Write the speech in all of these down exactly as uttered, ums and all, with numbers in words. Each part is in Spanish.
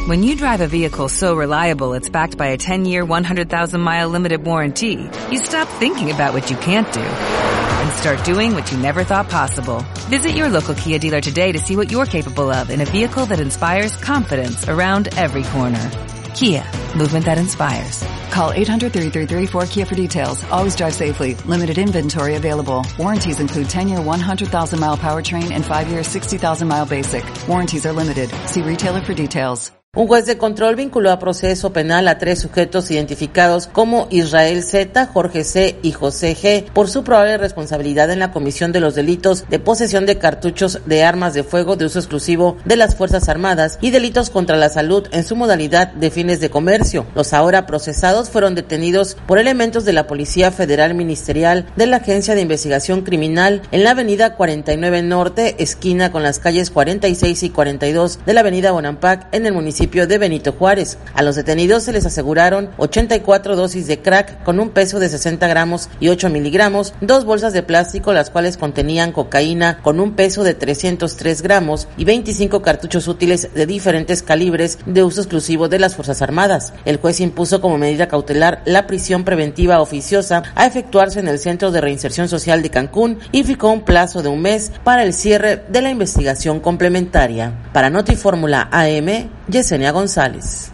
When you drive a vehicle so reliable it's backed by a ten-year, one hundred thousand mile limited warranty, you stop thinking about what you can't do and start doing what you never thought possible. Visit your local Kia dealer today to see what you're capable of in a vehicle that inspires confidence around every corner. Kia, movement that inspires. Call eight hundred, three three three, four K I A for details. Always drive safely. Limited inventory available. Warranties include ten-year, one hundred thousand mile powertrain and five-year, sixty thousand mile basic. Warranties are limited. See retailer for details. Un juez de control vinculó a proceso penal a tres sujetos identificados como Israel Z, Jorge C y José G por su probable responsabilidad en la comisión de los delitos de posesión de cartuchos de armas de fuego de uso exclusivo de las Fuerzas Armadas y delitos contra la salud en su modalidad de fines de comercio. Los ahora procesados fueron detenidos por elementos de la Policía Federal Ministerial de la Agencia de Investigación Criminal en la avenida cuarenta y nueve Norte, esquina con las calles cuarenta y seis y cuarenta y dos de la avenida Bonampak en el municipio de Benito Juárez. A los detenidos se les aseguraron ochenta y cuatro dosis de crack con un peso de sesenta gramos y ocho miligramos, dos bolsas de plástico las cuales contenían cocaína con un peso de trescientos tres gramos y veinticinco cartuchos útiles de diferentes calibres de uso exclusivo de las Fuerzas Armadas. El juez impuso como medida cautelar la prisión preventiva oficiosa a efectuarse en el Centro de Reinserción Social de Cancún y fijó un plazo de un mes para el cierre de la investigación complementaria. Para Notifórmula A M, Yesenia González.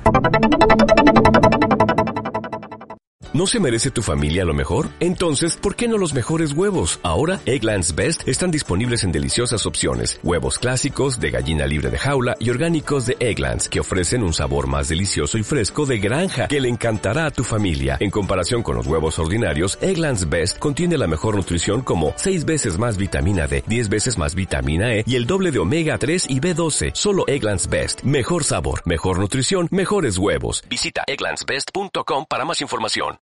¿No se merece tu familia lo mejor? Entonces, ¿por qué no los mejores huevos? Ahora, Eggland's Best están disponibles en deliciosas opciones. Huevos clásicos, de gallina libre de jaula y orgánicos de Eggland's, que ofrecen un sabor más delicioso y fresco de granja que le encantará a tu familia. En comparación con los huevos ordinarios, Eggland's Best contiene la mejor nutrición como seis veces más vitamina D, diez veces más vitamina E y el doble de omega tres y B doce. Solo Eggland's Best. Mejor sabor, mejor nutrición, mejores huevos. Visita egglands best punto com para más información.